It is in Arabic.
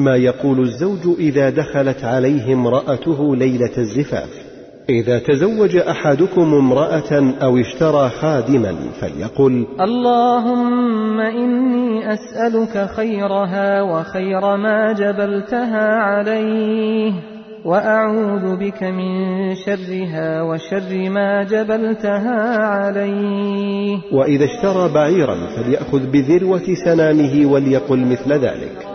ما يقول الزوج إذا دخلت عليه امرأته ليلة الزفاف. إذا تزوج أحدكم امرأة أو اشترى خادما فليقل: اللهم إني أسألك خيرها وخير ما جبلتها عليه، وأعوذ بك من شرها وشر ما جبلتها عليه. وإذا اشترى بعيرا فليأخذ بذروة سنامه وليقل مثل ذلك.